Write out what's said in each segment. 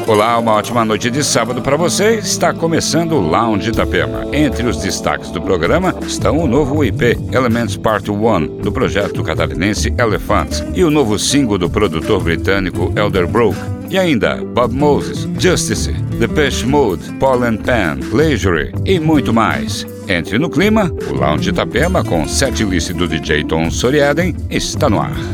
Olá, uma ótima noite de sábado para você. Está começando o Lounge Itapema. Entre os destaques do programa estão o novo EP Elements Part 1 do projeto catarinense Elephants e o novo single do produtor britânico Elderbrook. E ainda Bob Moses, Justice, Depeche Mode, Paul and Pan, Leisure e muito mais. Entre no clima, o Lounge Itapema com setlist do DJ Tom Soriaden está no ar.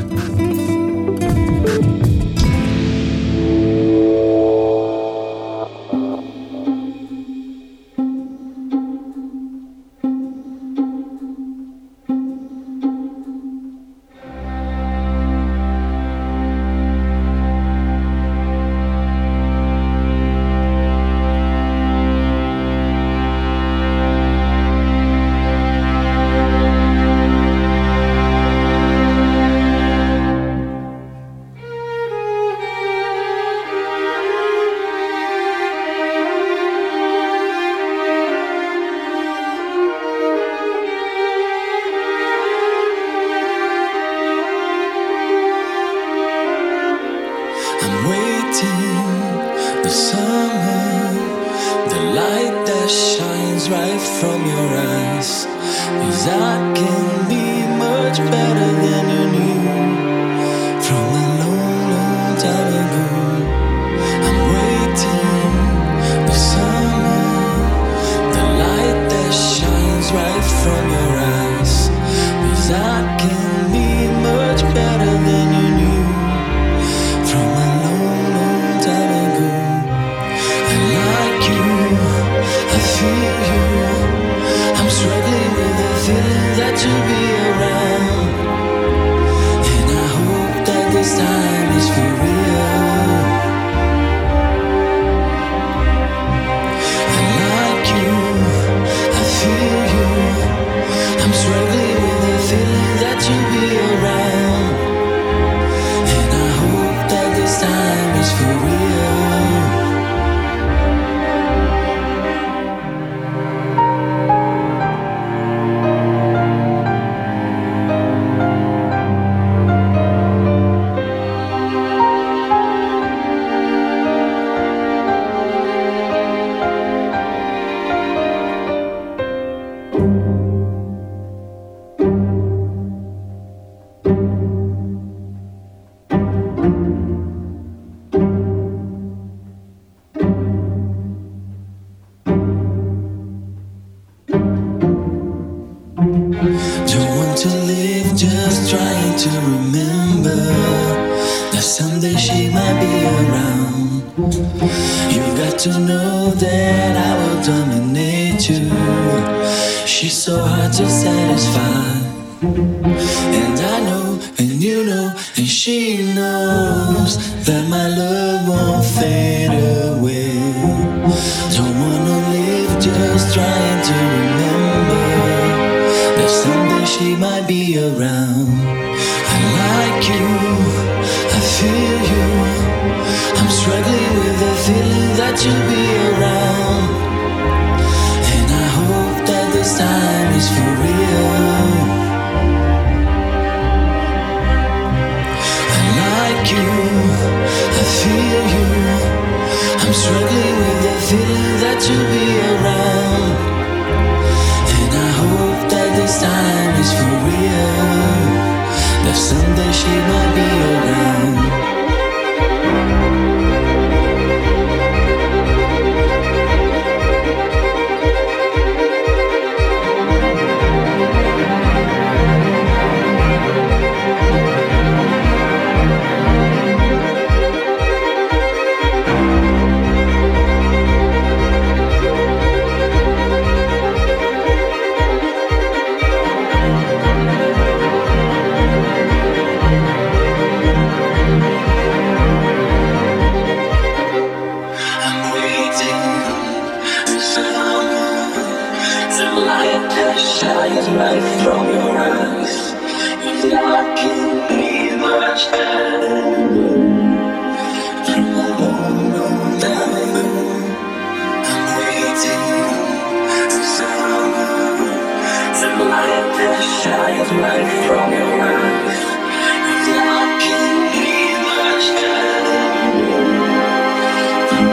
From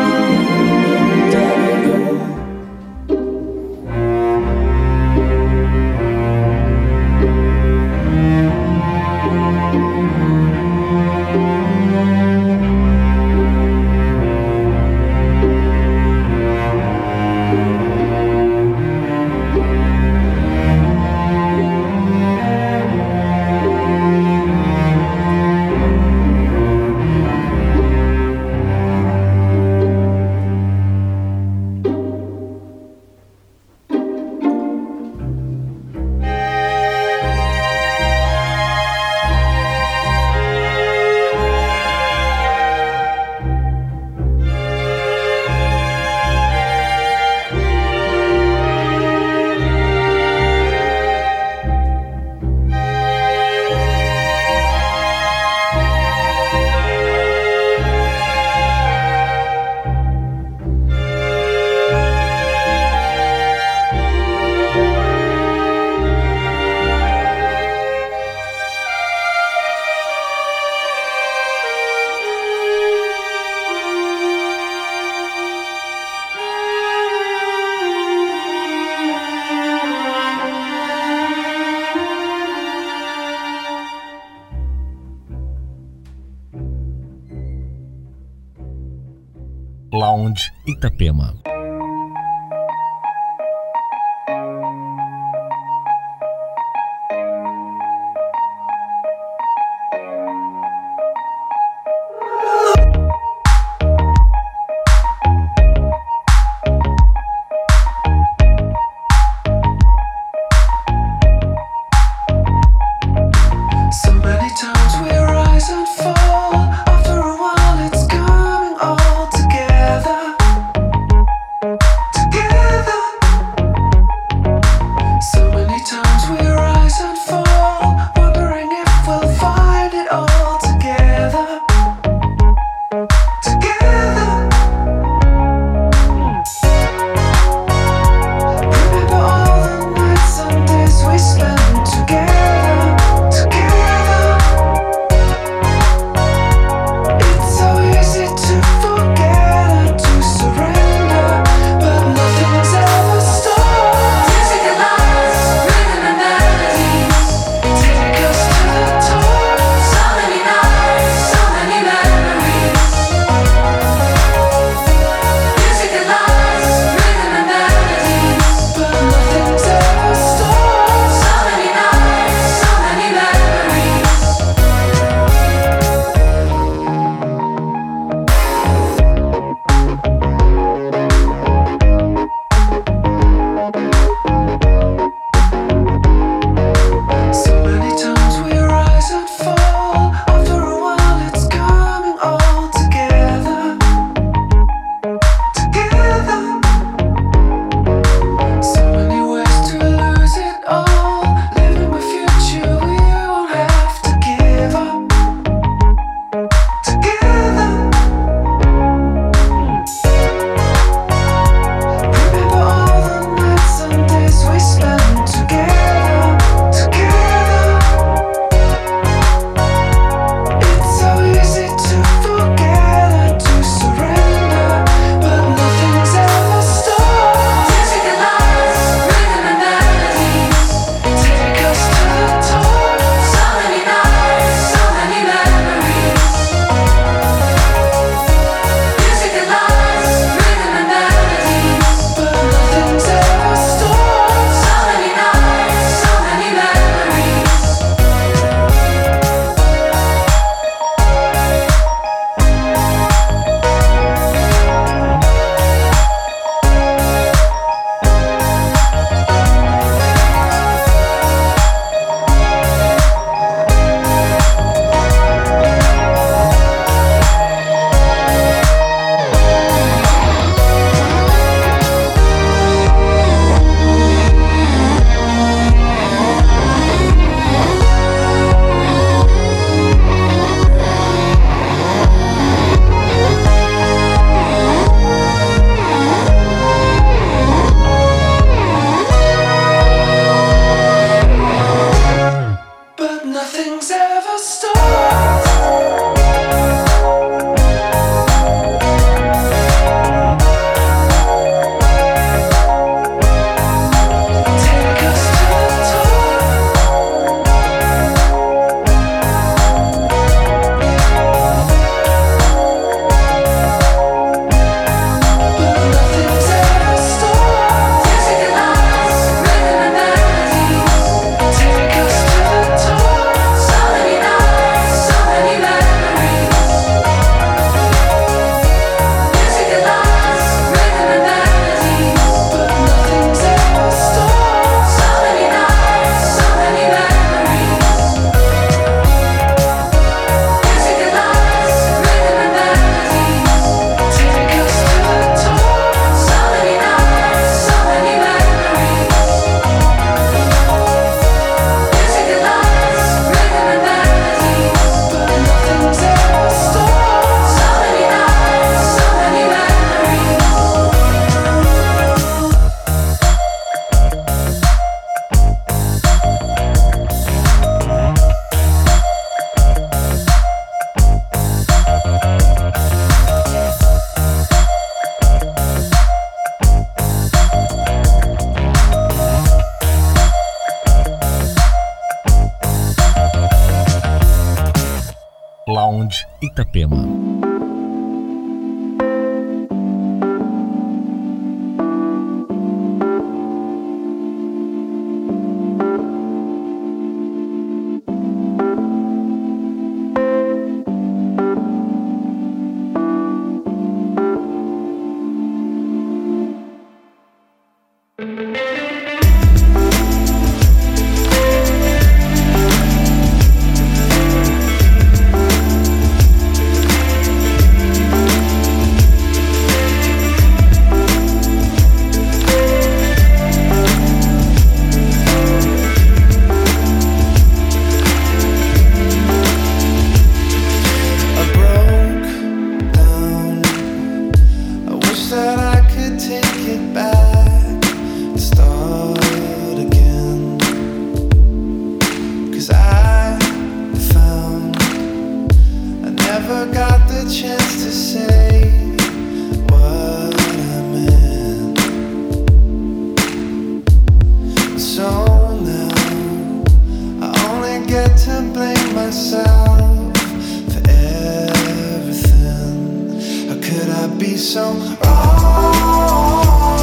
Lounge Itapema. Lounge Itapema. so wrong.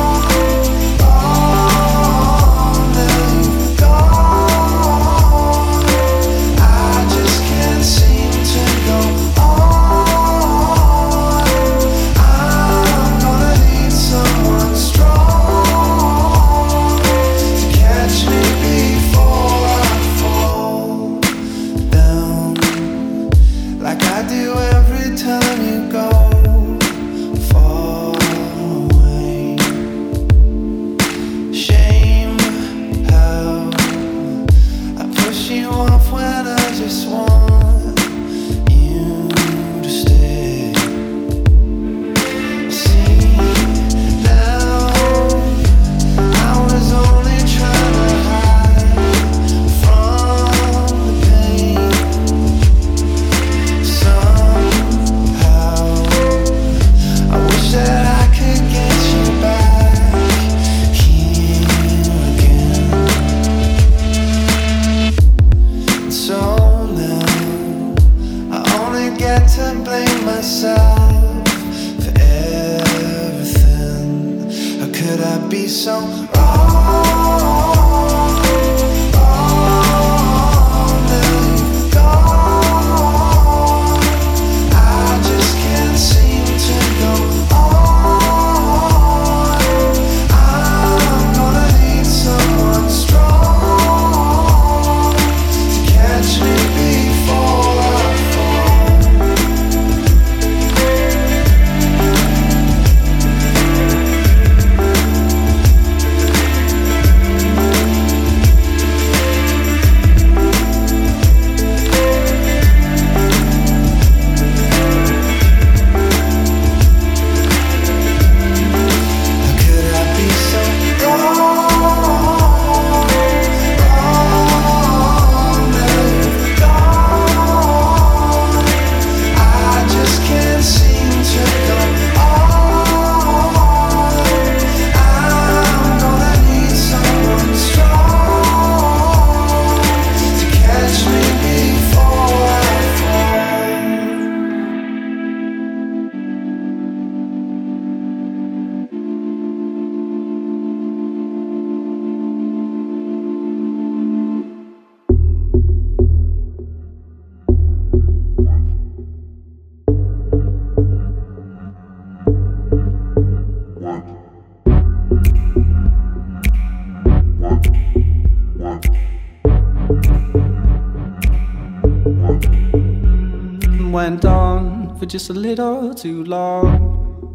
Went on for just a little too long.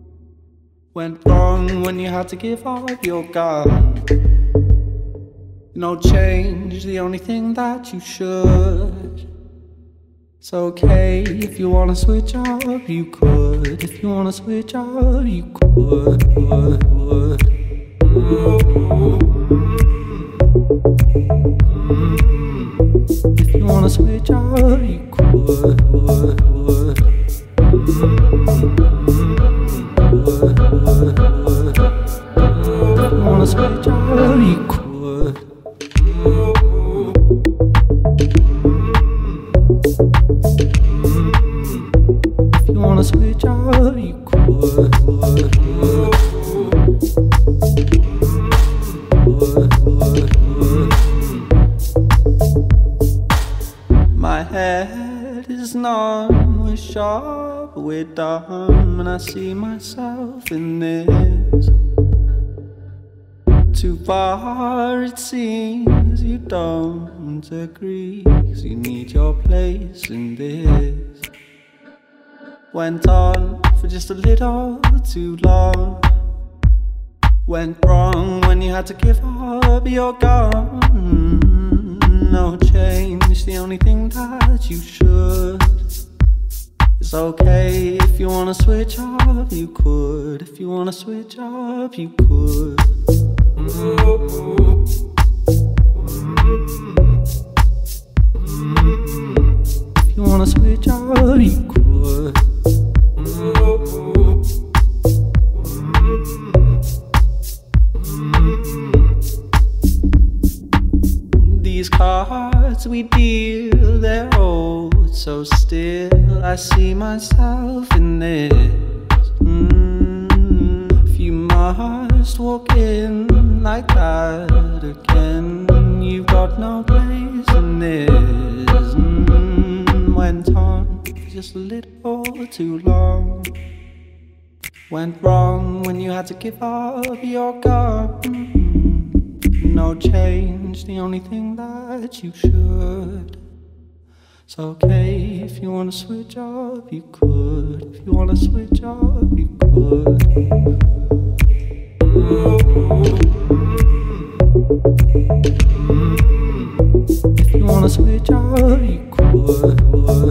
Went wrong when you had to give up your gun. No change, the only thing that you should. It's okay if you wanna switch up, you could. If you wanna switch up, you could. If you wanna switch up, you could. If you wanna switch up, you could. If you wanna switch up, you could. My head is numb, we're sharp, we're dumb, and I see myself in this. Too far it seems you don't agree, 'cause you need your place in this. Went on for just a little too long. Went wrong when you had to give up your gun. No change, the only thing that you should. It's okay if you wanna switch up, you could. If you wanna switch up, you could. If you wanna switch up, you could. These cards we deal, they're old, so still I see myself in this. If you must walk in like that again, you've got no place in this. Went on just a little too long. Went wrong when you had to give up your gun. No change, the only thing that you should. It's okay if you wanna switch up, you could. If you wanna switch up, you could. If you wanna switch up, you could.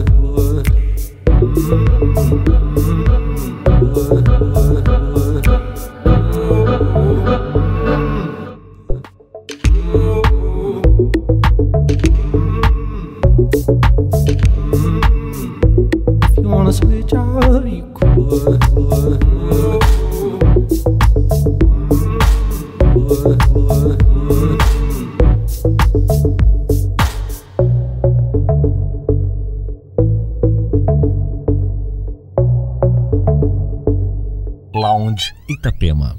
If you wanna switch up, you could. Lounge Itapema.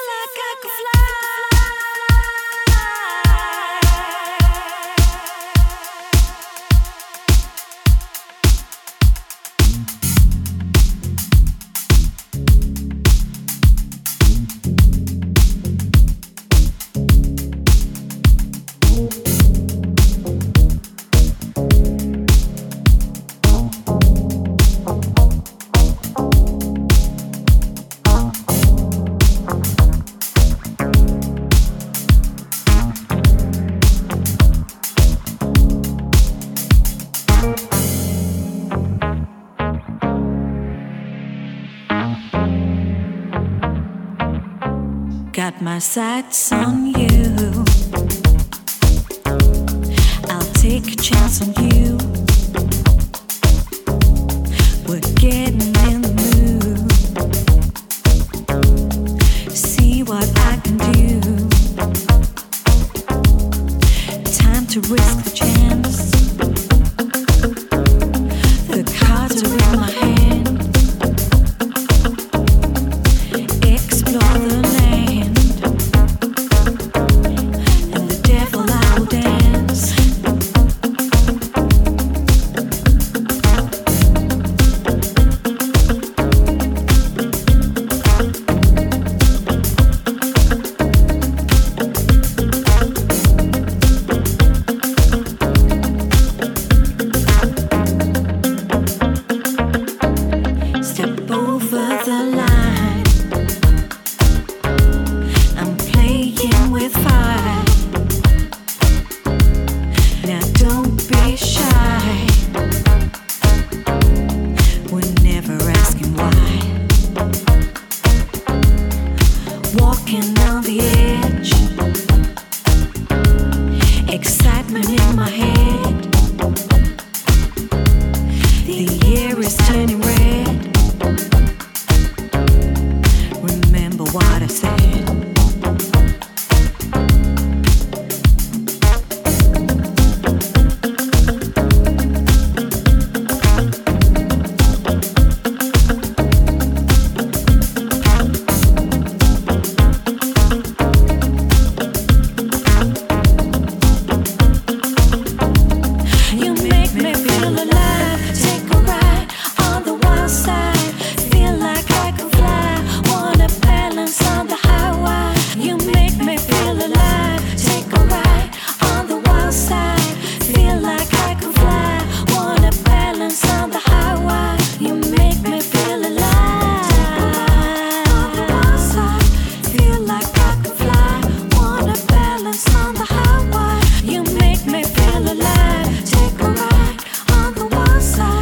Got my sights on you. I'll take a chance on you. We're getting in the mood. See what I can do. Time to risk the chance. The cards are in my hand. Explore the land. And the devil I will dance. Step over the line. I'm playing with fire. Now don't be shy. We're never asking why. Walking on the edge. Excitement in my head. The air is turning red. Remember what I said. You make me feel alive. Take a ride on the wild side. Feel like I can fly. Wanna balance on the highway. You make me feel alive. Take a ride on the wild side. Feel like I can fly. Wanna balance on the highway. You make me feel alive. On the wild side. Feel like I can fly. Wanna balance on the highway. You make me feel alive. Take a ride on the wild side.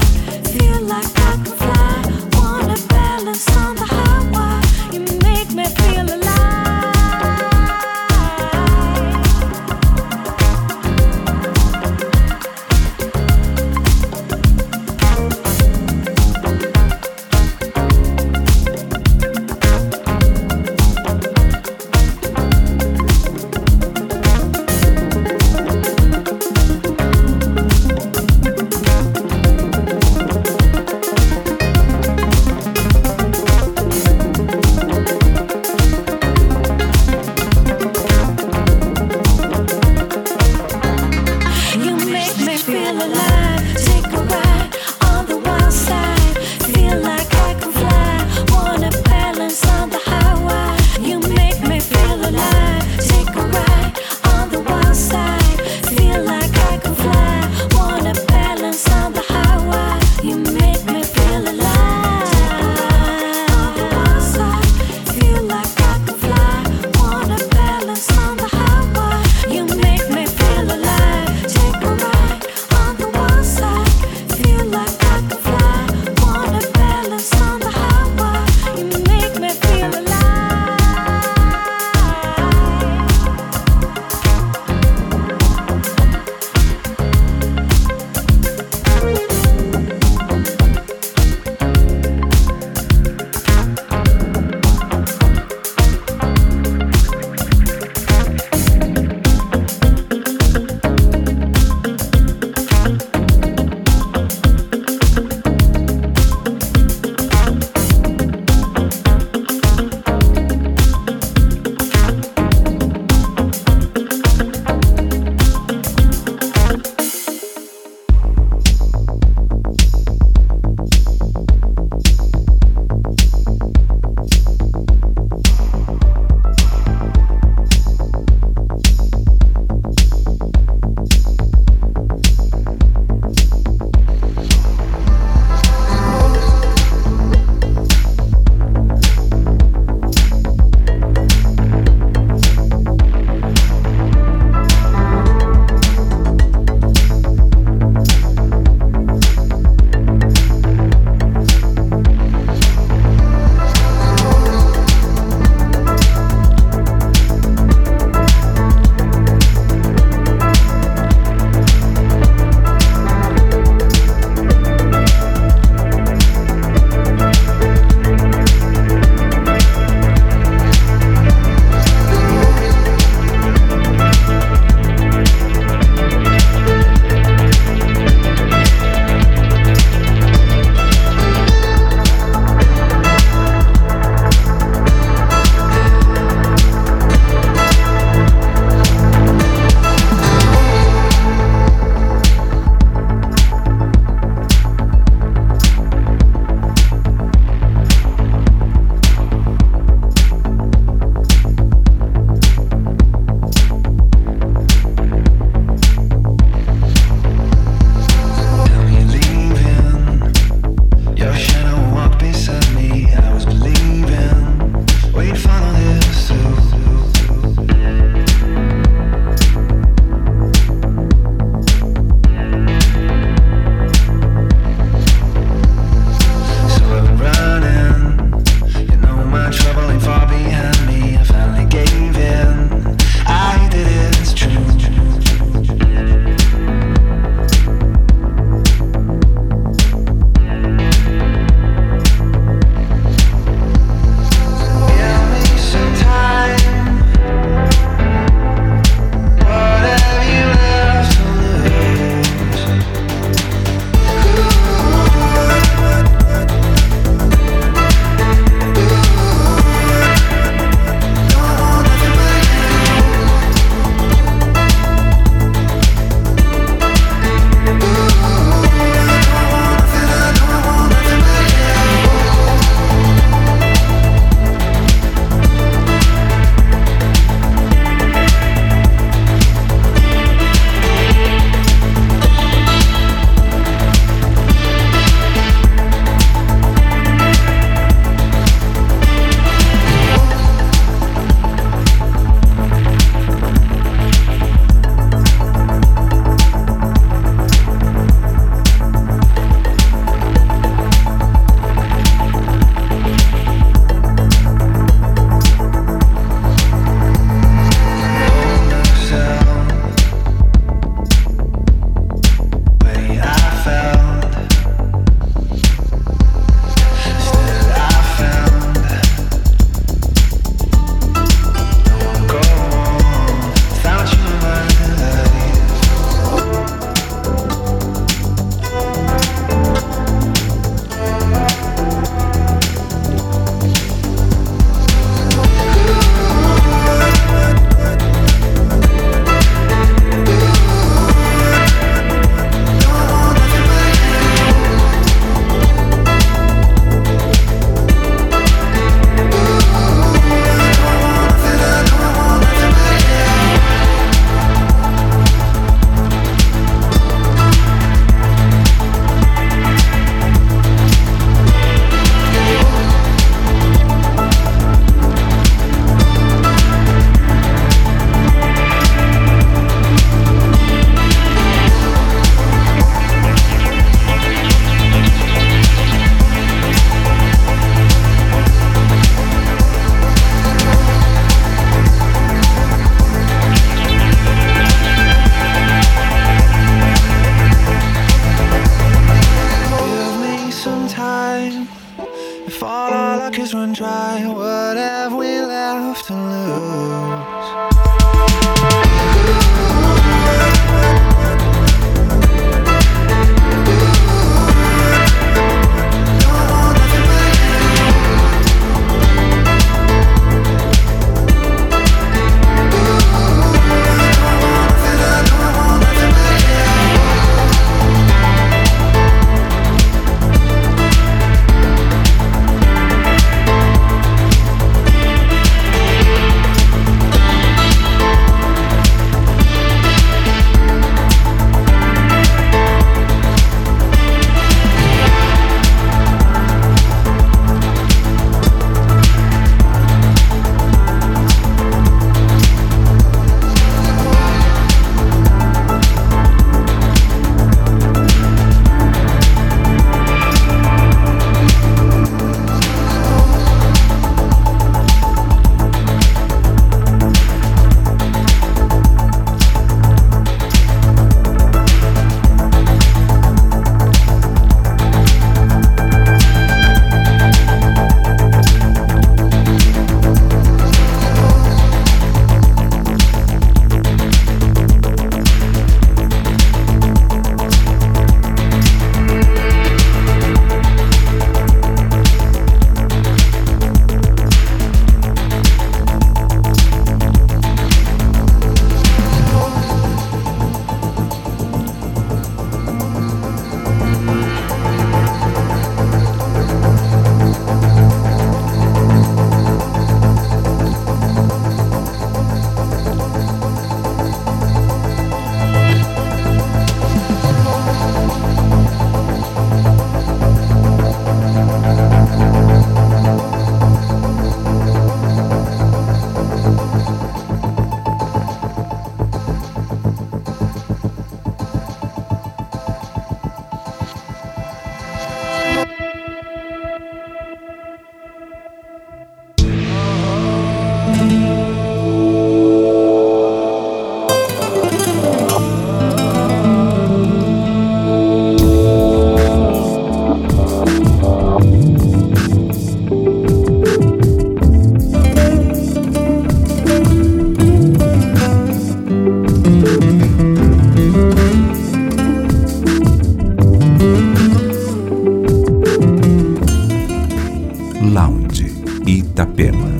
some time. If all our luck is run dry, what have we left to lose? Lounge Itapema.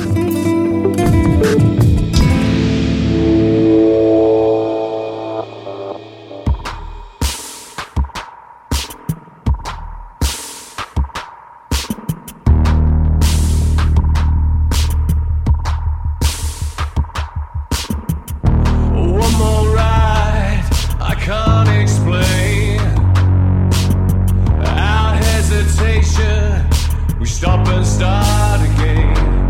One more ride, I can't explain our hesitation. We stop and start again.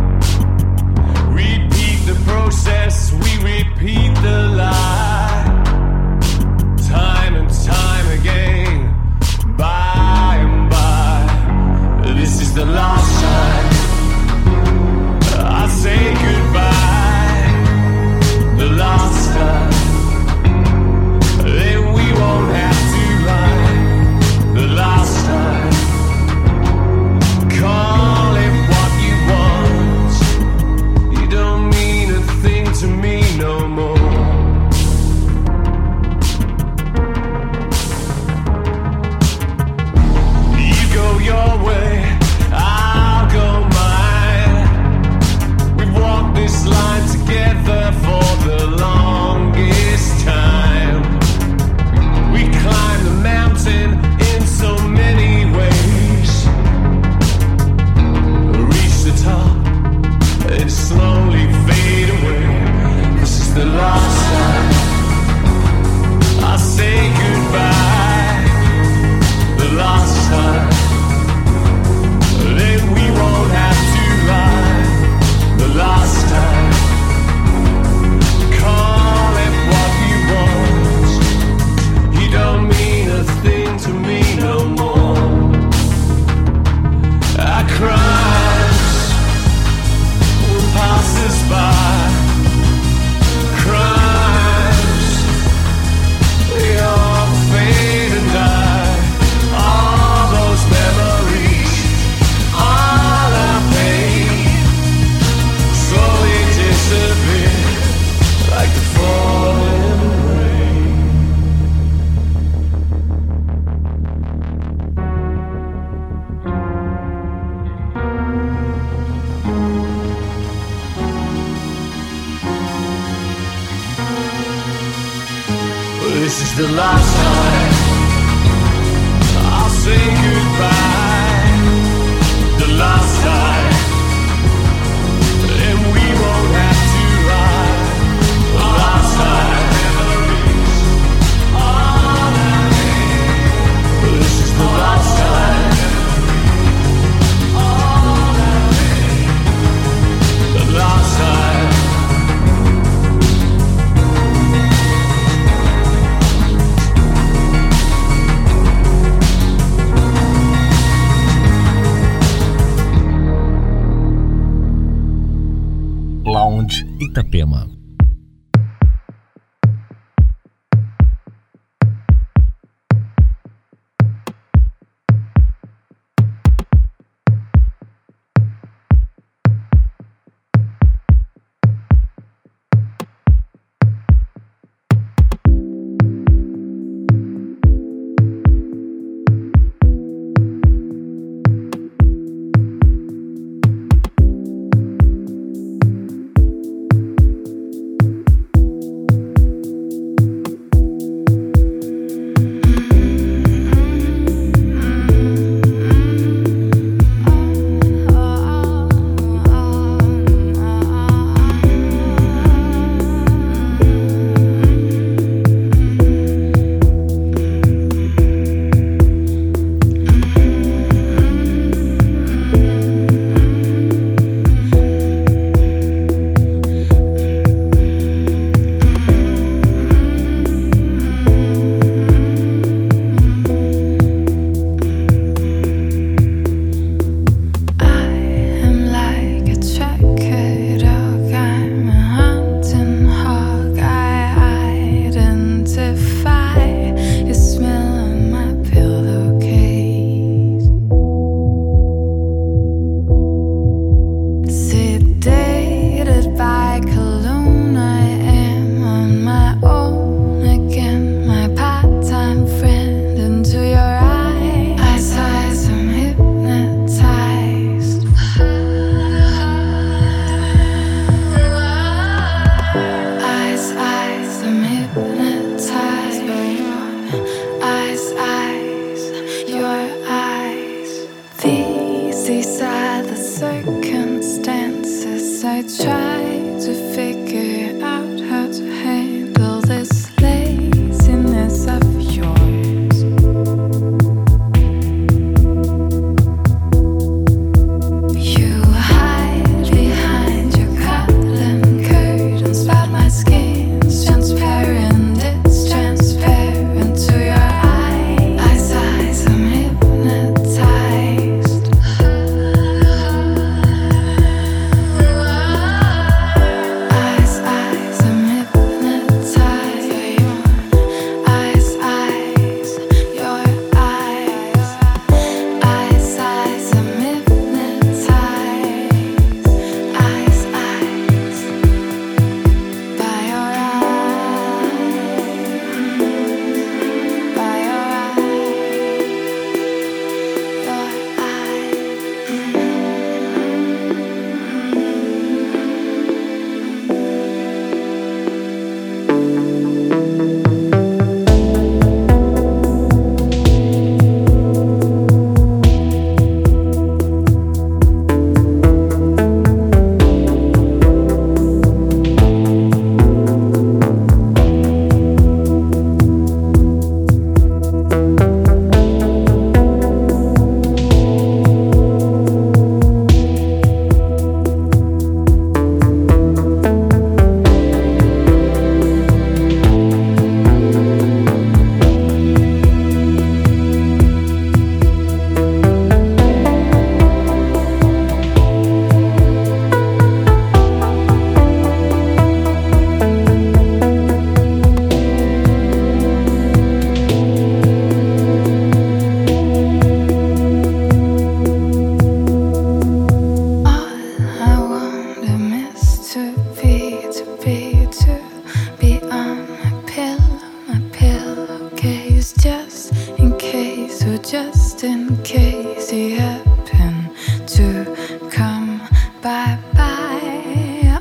last time I'll say goodbye. The last time, and we won't have to lie. The last time, memories on a ring. This is the last time on a ring. The last time. Lounge Itapema.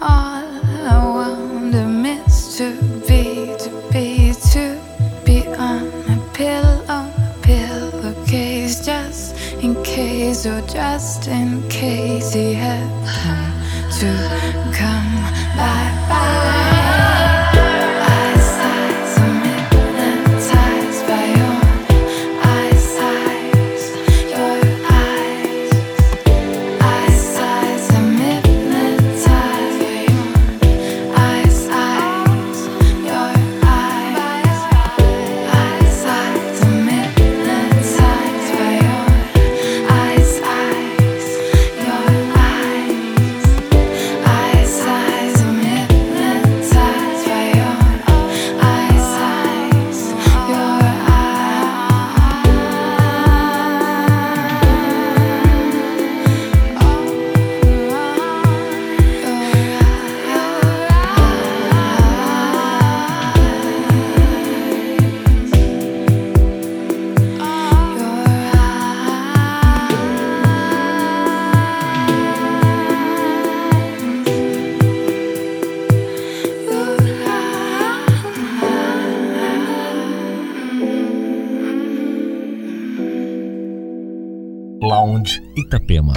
To be in case or just in case he had to come by. Lounge Itapema.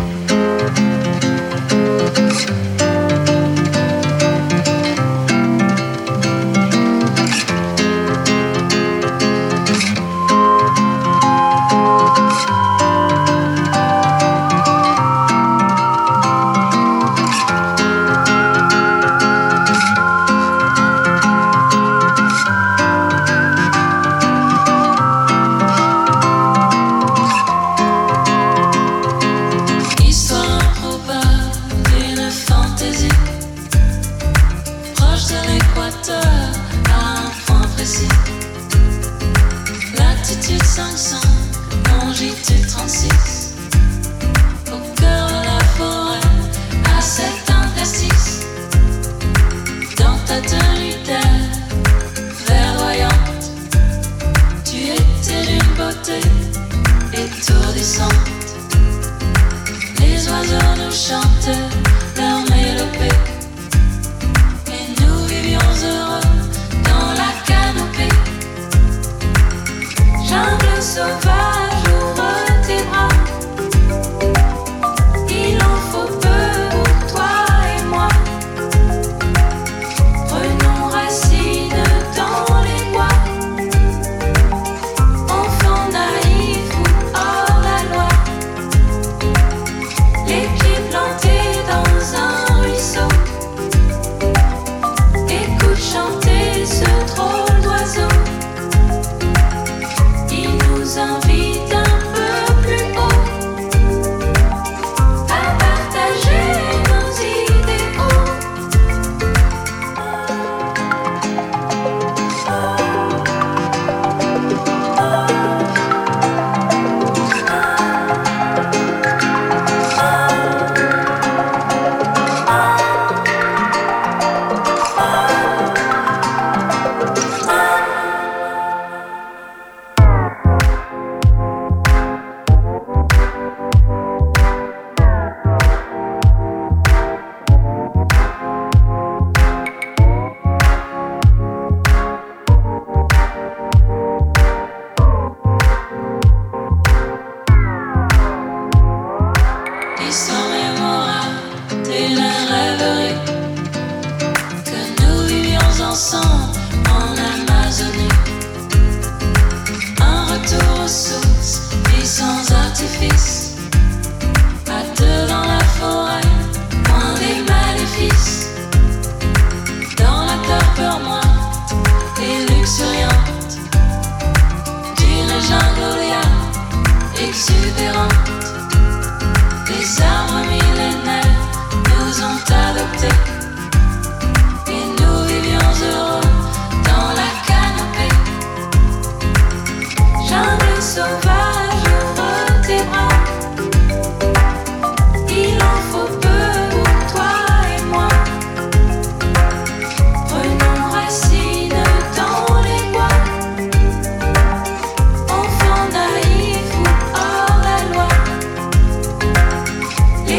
Les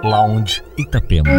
Lounge Itapema.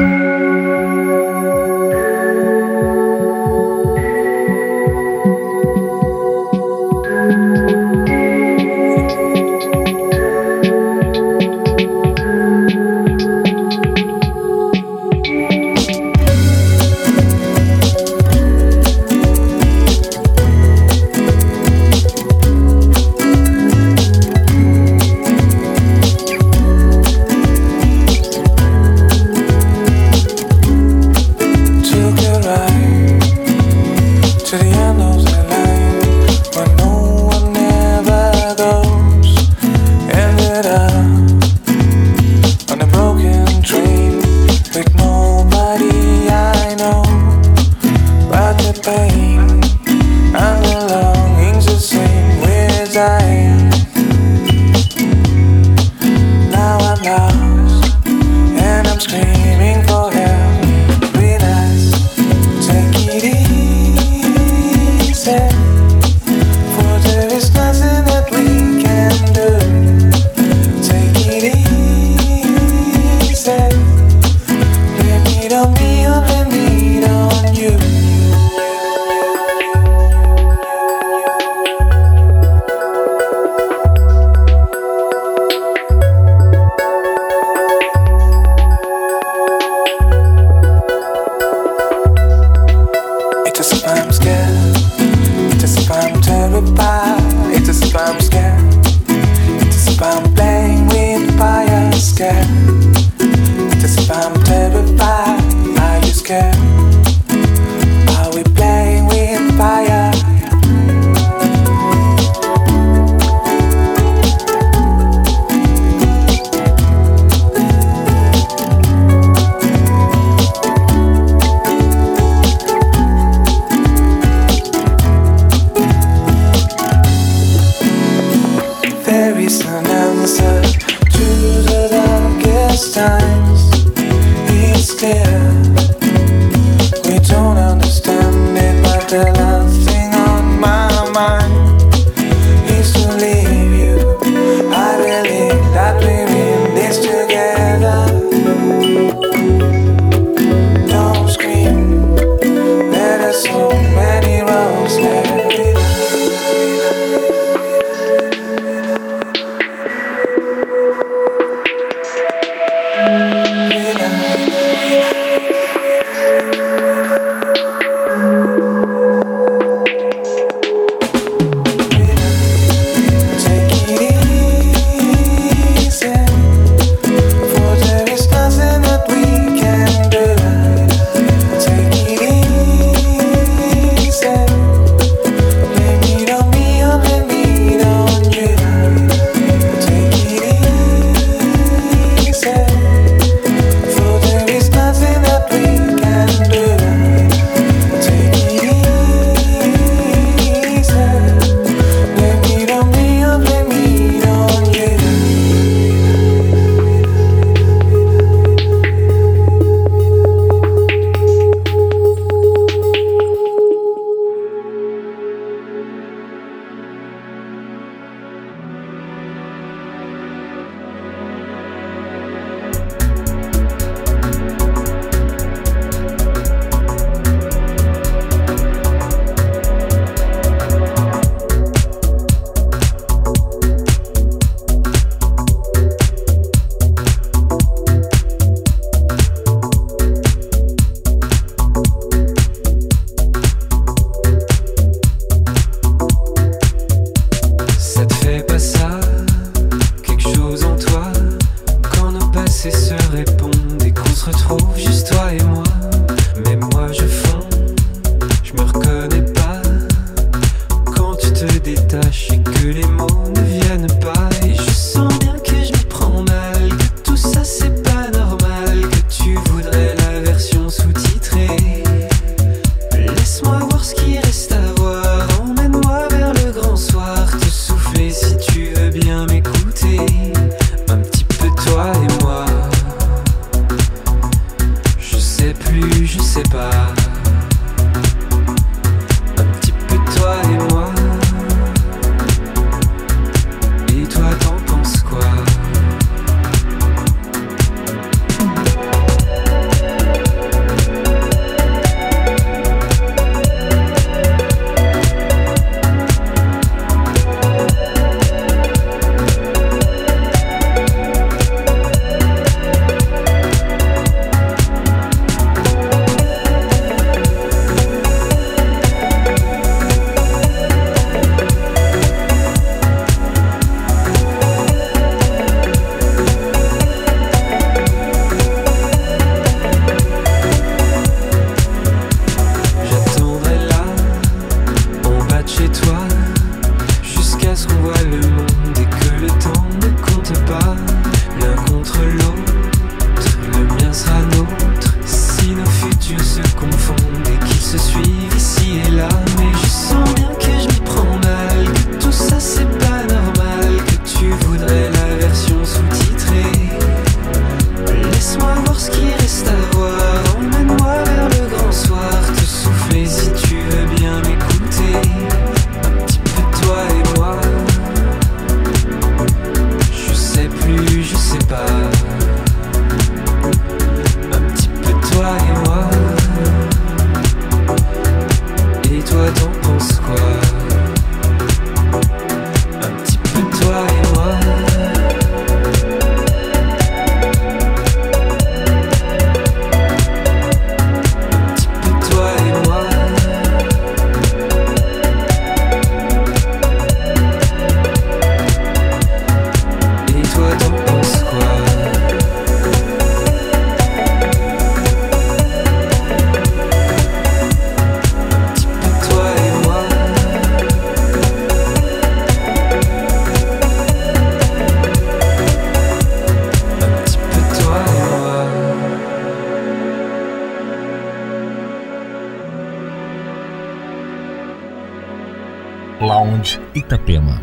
Lounge Itapema.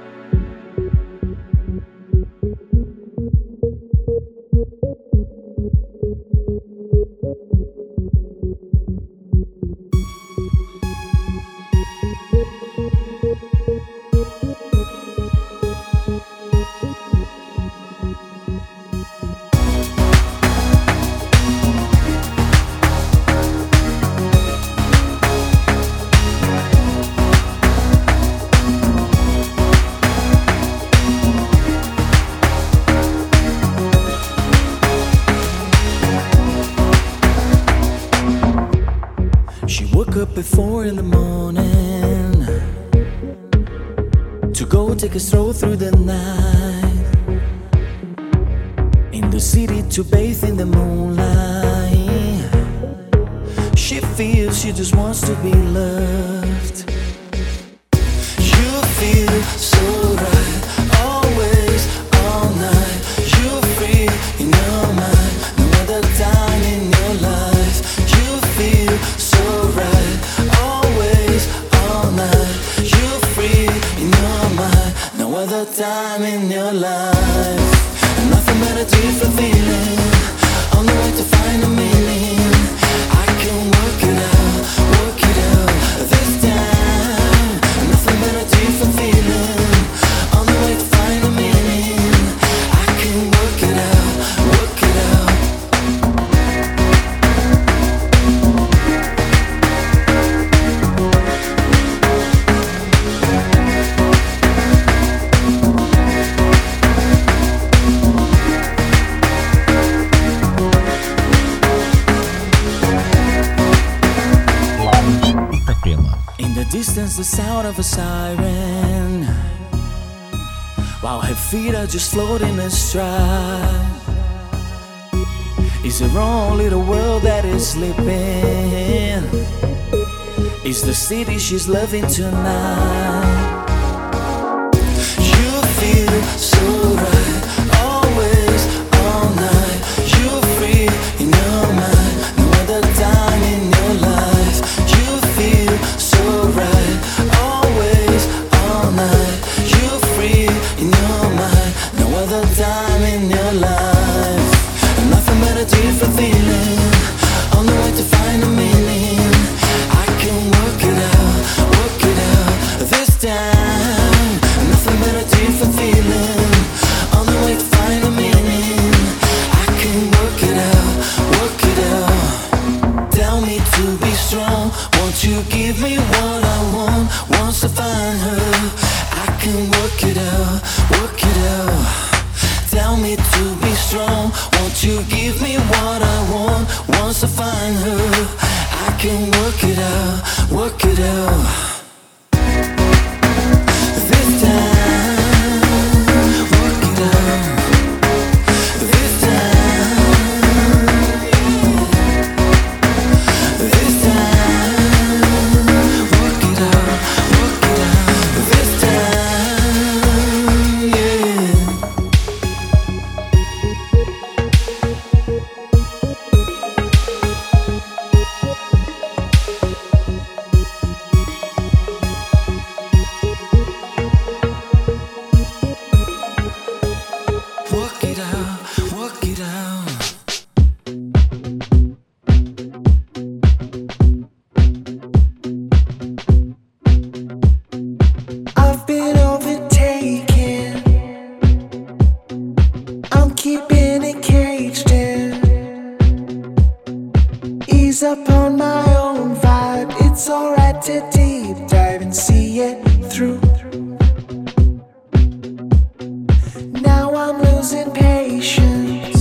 Before in the morning to go take a stroll through the night in the city to bathe in the moonlight. She feels she just wants to be loved. You feel so right, always, all night. You free in your mind, no other time in your life. You feel so right, always, all night. You free in your mind, no other time in your life. Nothing but a different feeling, on the way to find a meaning. I can work it out this time. Nothing but a different feeling, on the way to find a meaning. I can work it out, work it out. Distance, the sound of a siren, while her feet are just floating astride. Is her own little world that is sleeping? Is the city she's loving tonight? You feel so right, always, all night. You free in your mind, no other time in your life. You feel so right, always, all night. You free in your mind, no other time in your life. Nothing but a different feeling, on the way to find a meaning. I can work it out this time. Nothing but a different feeling, on the way to find a meaning. I can work it out. Tell me to be strong, won't you give me what I want? Once I find her, I can work it out. Tell me to be strong, won't you give me what I want? Once I find her, I can work it out. This time, work it out. This time, this time, work it out. This time, yeah. Work it out. I've been overtaken, I'm keeping it caged in. Ease up on my own vibe, it's alright to deep dive and see it through. Now I'm losing patience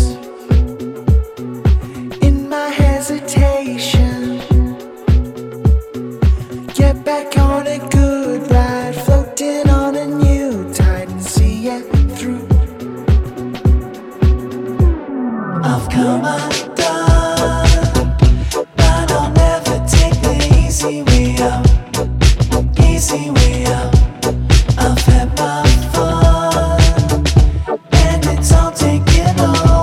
in my hesitation. Get back on a good ride, floating on a new tide and see it through. I've come undone, but I'll never take the easy way out. I've had my fun, and it's all taken off.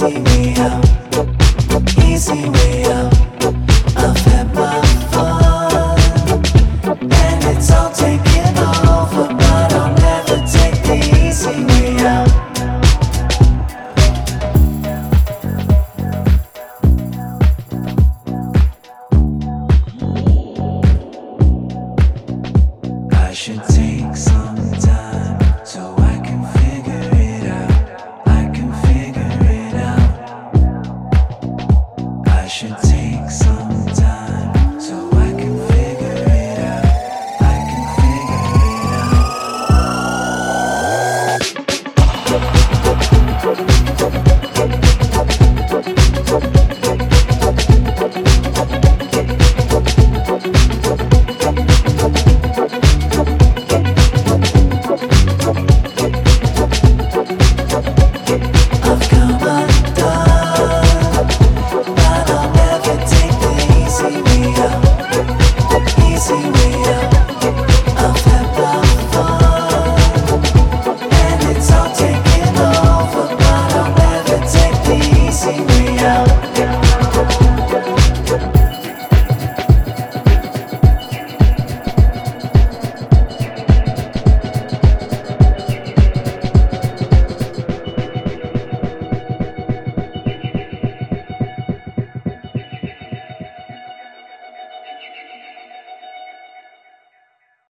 see me.